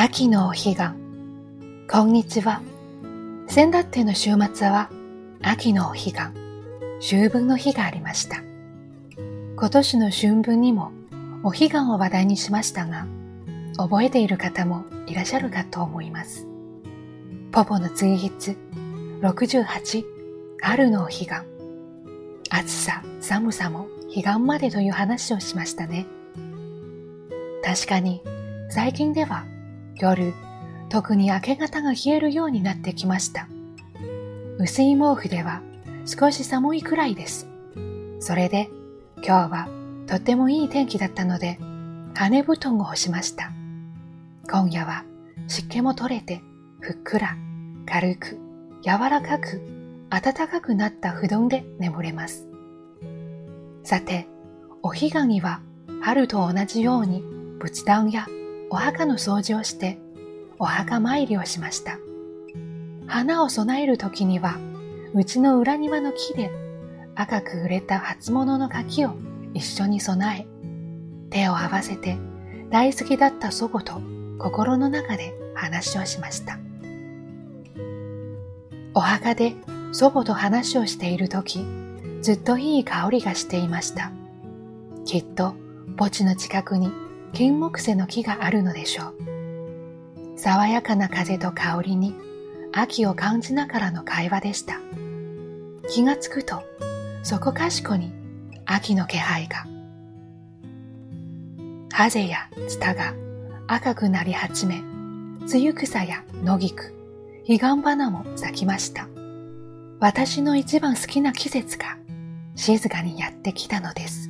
秋のお彼岸。こんにちは。先だっての週末は秋のお彼岸、秋分の日がありました。今年の春分にもお彼岸を話題にしましたが、覚えている方もいらっしゃるかと思います。ポポの追筆68、春のお彼岸。暑さ、寒さも彼岸までという話をしましたね。確かに最近では夜、特に明け方が冷えるようになってきました。薄い毛布では少し寒いくらいです。それで今日はとってもいい天気だったので、羽布団を干しました。今夜は湿気も取れて、ふっくら、軽く、柔らかく、暖かくなった布団で眠れます。さて、お彼岸には春と同じように仏壇やお墓の掃除をしてお墓参りをしました。花を供えるときには、うちの裏庭の木で赤く売れた初物の柿を一緒に備え、手を合わせて大好きだった祖母と心の中で話をしました。お墓で祖母と話をしているとき、ずっといい香りがしていました。きっと墓地の近くに金木犀の木があるのでしょう。爽やかな風と香りに秋を感じながらの会話でした。気がつくとそこかしこに秋の気配が。ハゼやツタが赤くなり始め、ツユクサや野菊、彼岸花も咲きました。私の一番好きな季節が静かにやってきたのです。